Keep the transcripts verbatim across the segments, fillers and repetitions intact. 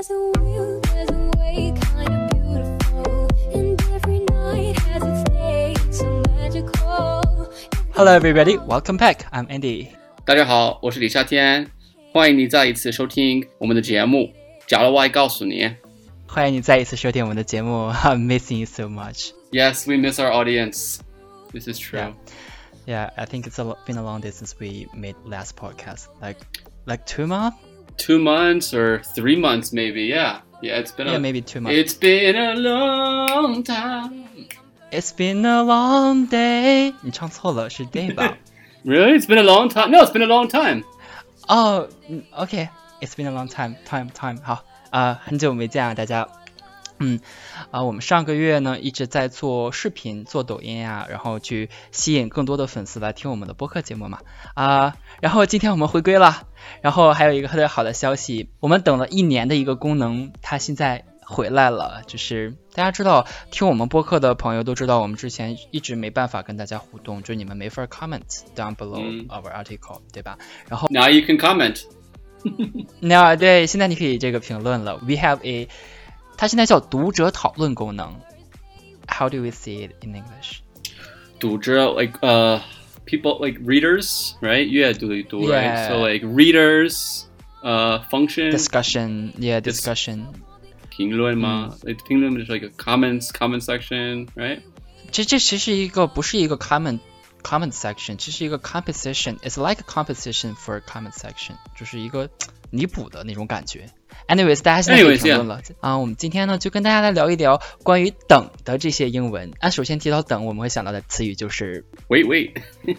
Hello everybody, welcome back. I'm Andy. 大家好，我是李夏天，欢迎你再一次收听我们的节目。假如我爱告诉你， 欢迎你再一次收听我们的节目。I'm missing you so much. Yes, we miss our audience. This is true. Yeah, yeah I think it's a, been a long day since we made last podcast. Like, like two months? Two months or three months, maybe. Yeah, yeah. It's been yeah, a, maybe two months. It's been a long time. It's been a long day. 你唱错了，是 day 吧？ Really? It's been a long time? No, it's been a long time. Oh, okay. It's been a long time. Time, time. 好，啊、呃，很久没见啊，大家。嗯，啊、呃，我们上个月呢一直在做视频、做抖音呀、啊，然后去吸引更多的粉丝来听我们的播客节目嘛。啊、呃，然后今天我们回归了，然后还有一个特别好的消息，我们等了一年的一个功能，它现在回来了。就是大家知道，听我们播客的朋友都知道，我们之前一直没办法跟大家互动，就是你们没法 comment down below our article，、嗯、对吧？然后 Now you can comment. 那对，现在你可以这个评论了。We have a， 它现在叫读者讨论功能。How do we see it in English？ 读者 like uh people like readers, right? 阅读读 yeah. right? So like readers uh function discussion, yeah, discussion. 评论吗？嗯、评论就是 like a comments comment section, right? 这这其实一个不是一个 comment comment section， 这是一个 composition. It's like a composition for a comment section， 就是一个弥补的那种感觉。Anyways， 大家现在可以评论了啊、yeah. 呃。我们今天呢就跟大家来聊一聊关于等的这些英文。啊，首先提到等，我们会想到的词语就是 wait wait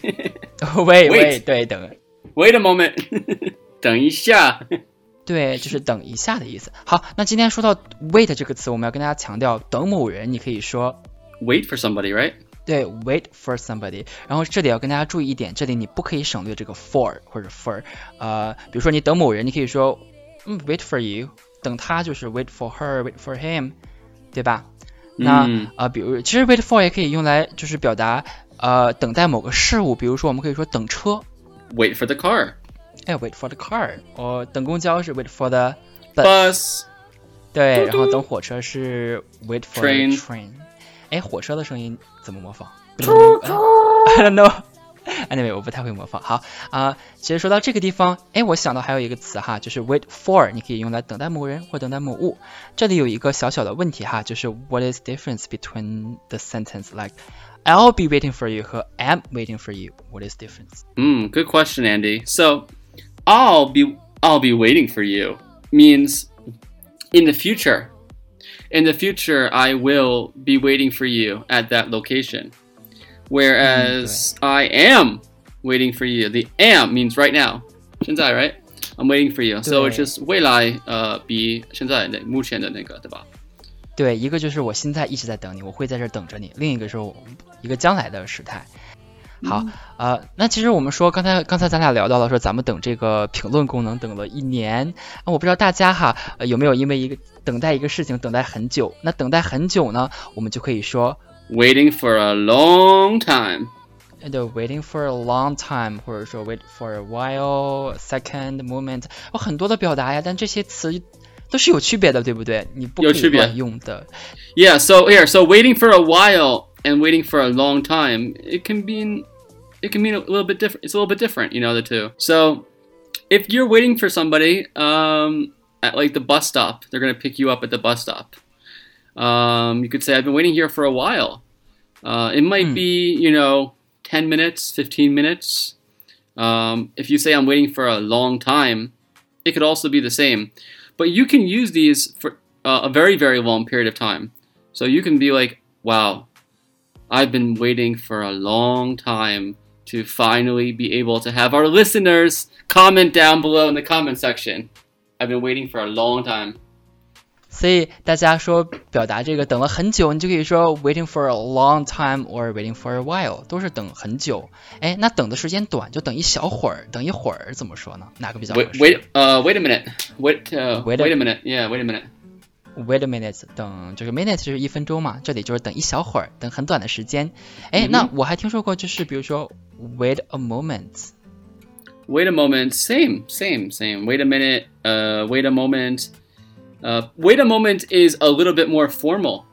wait wait 对等 wait a moment 等一下。 对，就是等一下的意思。好，那今天说到 wait 这个词，我们要跟大家强调，等某人，你可以说 wait for somebody, right？ 对 ，wait for somebody。然后这里要跟大家注意一点，这里你不可以省略这个 for 或者 for。呃，比如说你等某人，你可以说嗯 wait for you， 等他就是 wait for her，wait for him， 对吧？那、嗯、呃，比如其实 wait for 也可以用来就是表达呃等待某个事物，比如说我们可以说等车 ，wait for the car。 哎 ，wait for the car， 哦，等公交是 wait for the bus，, bus 对，然后等火车是 wait for train. the train。哎，火车的声音怎么模仿 ？I don't know. Anyway， 我不太会模仿。好啊、呃，其实说到这个地方，哎，我想到还有一个词哈，就是 wait for， 你可以用来等待某人或等待某物。这里有一个小小的问题哈，就是 what is difference between the sentence like I'll be waiting for you 和 am waiting for you? What is difference? Hmm, good question, Andy. So.I'll be I'll be waiting for you means in the future. In the future, I will be waiting for you at that location. Whereas、嗯、I am waiting for you. The am means right now. 现在 right? I'm waiting for you. So it's just 未来呃比现在的目前的那个对吧？ 对，一个就是我现在一直在等你，我会在这等着你；另一个是我一个将来的时态。好，呃，那其实我们说，刚才刚才咱俩聊到了说，咱们等这个评论功能等了一年，啊、我不知道大家哈、呃、有没有因为一个等待一个事情等待很久？那等待很久呢，我们就可以说 waiting for a long time。 对 ，waiting for a long time， 或者说 wait for a while, second, moment， 有很多的表达呀，但这些词都是有区别的，对不对？你不可以乱用的。 Yeah, so here, so waiting for a while and waiting for a long time, it can be.It can mean a little bit different. It's a little bit different, you know, the two. So, if you're waiting for somebody um, at like the bus stop, they're gonna pick you up at the bus stop. Um, you could say, "I've been waiting here for a while." Uh, it might mm. be, you know, ten minutes, fifteen minutes. Um, if you say, "I'm waiting for a long time," it could also be the same. But you can use these for uh, a very, very long period of time. So you can be like, "Wow, I've been waiting for a long time." To finally be able to have our listeners comment down below in the comment section. I've been waiting for a long time. 所以大家说表达这个等了很久，你就可以说 waiting for a long time or waiting for a while， 都是等很久。哎，那等的时间短就等一小会儿，等一会儿怎么说呢？哪个比较合适 ？Wait, uh, wait a minute. Wait, uh, wait, wait a minute. Yeah, wait a minute.Wait a minute， 等这个 minute 就是一分钟嘛，这里就是等一小会儿，等很短的时间。哎、mm-hmm. 那我还听说过，就是比如说 wait a moment。 Wait a moment, same, same, same. Wait a minute, uh, wait a moment. Uh, wait a moment is a little bit more formal.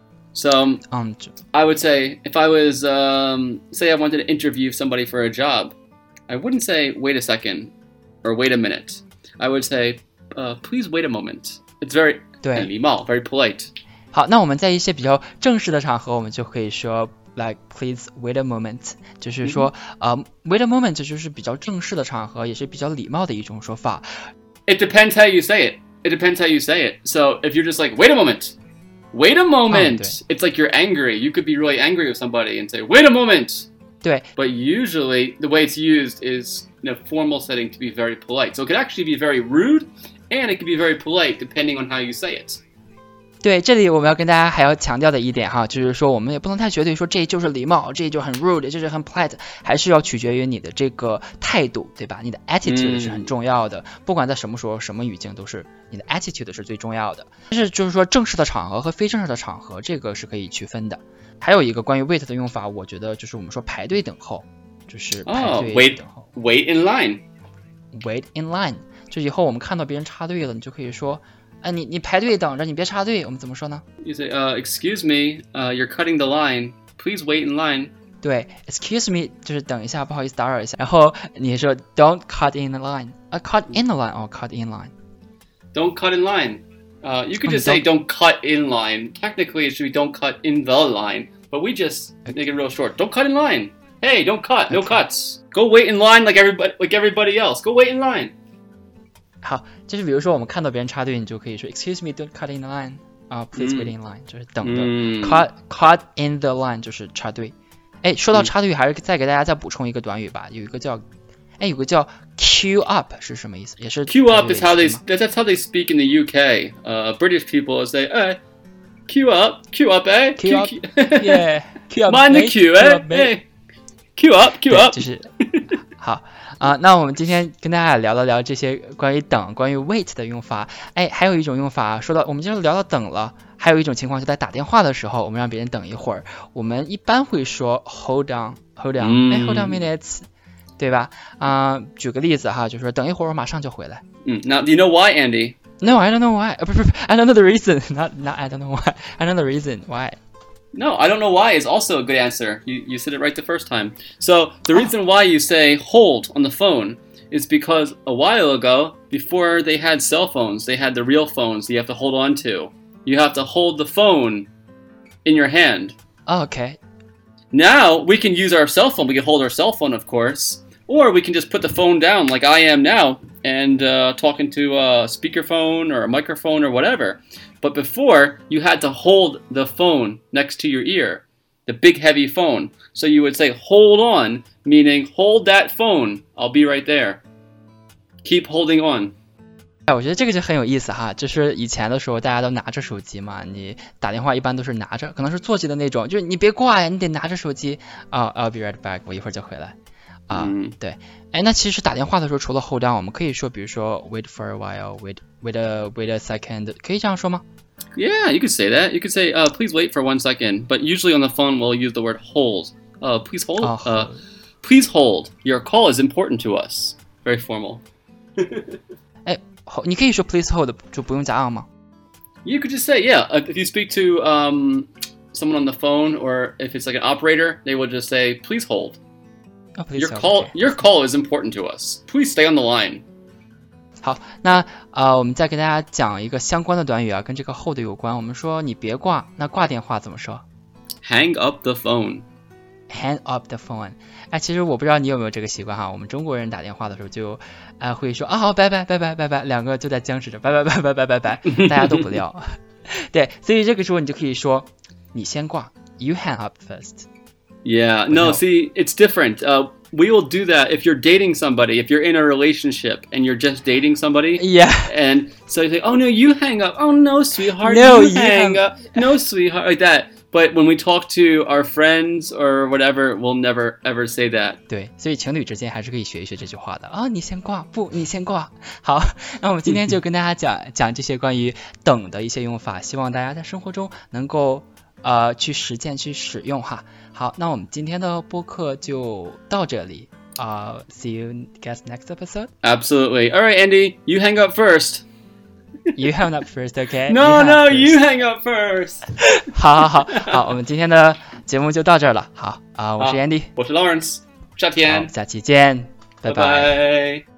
So um, I would say if I was, um, say I wanted to interview somebody for a job, I wouldn't say wait a second or wait a minute. I would say, uh, please wait a moment. It's very 对， 礼貌 very polite. 好，那我们在一些比较正式的场合，我们就可以说 like please wait a moment， 就是说、嗯、呃 wait a moment 就是比较正式的场合，也是比较礼貌的一种说法。 It depends how you say it. It depends how you say it. So if you're just like, wait a moment, wait a moment, oh, it's like you're angry. You could be really angry with somebody and say, wait a moment. 对 But usually the way it's used is in a formal setting to be very polite. So it could actually be very rude and it could be very polite depending on how you say it. 对，这里我们要跟大家还要强调的一点哈，就是说我们也不能太绝对说这就是礼貌，这就很 rude， 这就是很 polite， 还是要取决于你的这个态度，对吧？你的 attitude 是很重要的，不管在什么时候、什么语境，都是你的 attitude 是最重要的。但是就是说正式的场合和非正式的场合，这个是可以区分的。还有一个关于 wait 的用法，我觉得就是我们说排队等候，就是排队等候。 Oh, wait, wait in line. Wait in line， 就以后我们看到别人插队了，你就可以说。啊、你你排队等着，你别插队。我们怎么说呢 You say, uh, excuse me, uh, you're cutting the line. Please wait in line. 对 ，excuse me 就是等一下，不好意思打扰一下。然后你说 don't cut in the line， 啊、uh, cut in the line， 哦、oh, cut in line。 Don't cut in line. Uh, you could just say don't cut in line. Technically, it should be don't cut in the line, but we just make it real short. Don't cut in line. Hey, don't cut. No cuts. Go wait in line like everybody, like everybody else. Go wait in line. 好，就是比如说我们看到别人插队，你就可以说 excuse me, don't cut in the line， 啊、uh, ，please wait in line，、嗯、就是等的、嗯、，cut cut in the line 就是插队。哎，说到插队，还是再给大家再补充一个短语吧，有一个叫，哎，有个叫 queue up 是什么意思？也是 queue up is how they that's how they speak in the U K. Uh, British people say, "Hey, queue up, queue up, eh? Queue up, yeah, queue up, mind the queue, eh? Hey, queue up, queue up." 就是好。啊、呃，那我们今天跟大家聊了聊这些关于等、关于 wait 的用法。哎，还有一种用法，说到我们今天聊到等了，还有一种情况就在打电话的时候，我们让别人等一会儿，我们一般会说 hold on，hold on， 哎 ，hold on minutes， 对吧？啊、呃，举个例子哈，就说等一会儿我马上就回来。 嗯 ，Now do you know why, Andy? No, I don't know why. 不不不 ，I don't know the reason. Not not I don't know why. I know the reason why.No, I don't know why is also a good answer. You, you said it right the first time. So the reason why you say hold on the phone is because a while ago, before they had cell phones, they had the real phones that you have to hold on to. You have to hold the phone in your hand. Oh, okay. Now we can use our cell phone. We can hold our cell phone, of course. Or we can just put the phone down like I am now and uh, talking to a speakerphone or a microphone or whatever. But before, you had to hold the phone next to your ear, the big heavy phone. So you would say, hold on, meaning hold that phone. I'll be right there. Keep holding on. 哎，我觉得这个就很有意思哈，就是以前的时候大家都拿着手机嘛，你打电话一般都是拿着，可能是座机的那种，就是你别挂呀，你得拿着手机啊、uh, I'll be right back， 我一会儿就回来。啊、uh, 嗯，对，哎，那其实打电话的时候，除了 hold on， 我们可以说，比如说 wait for a while，wait wait a wait a second， 可以这样说吗 ？Yeah, you could say that. You could say, uh, please wait for one second. But usually on the phone, we'll use the word hold. Uh, please hold. Oh, uh, please hold. Your call is important to us. Very formal. 哎，你可以说 please hold， 就不用加 on 吗 ？You could just say, yeah. If you speak to um someone on the phone, or if it's like an operator, they will just say, please hold.Oh, your call, okay. your call is important to us. Please stay on the line. 好，那呃，我们再给大家讲一个相关的短语啊，跟这个 hold 有关。我们说你别挂，那挂电话怎么说 ？Hang up the phone. Hang up the phone. 哎，其实我不知道你有没有这个习惯哈。我们中国人打电话的时候就，哎、呃，会说啊好，拜拜拜拜拜拜，两个就在僵持着，拜拜拜拜拜拜拜，大家都不撂。对，所以这个时候你就可以说，你先挂 ，You hang up first.Yeah, no, see, it's different. Uh, we will do that if you're dating somebody, if you're in a relationship and you're just dating somebody. Yeah. And so you say, oh, no, you hang up. Oh, no, sweetheart, no, you, you hang hang... up. No, sweetheart, like that. But when we talk to our friends or whatever, we'll never, ever say that. 对，所以情侣之间还是可以学一学这句话的啊。你先挂，不，你先挂。好，那我们今天就跟大家讲讲这些关于等的一些用法，希望大家在生活中能够呃去实践、去使用哈。好，那我们今天的播客就到这里。Uh, see you guys next episode. Absolutely. All right, Andy, you hang up first. You hang up first, okay? No, you no, first. you hang up first. 好好好好，我们今天的节目就到这儿了。好啊、呃，我是 Andy， 我是 Lawrence， 夏天， 下期见，拜拜拜。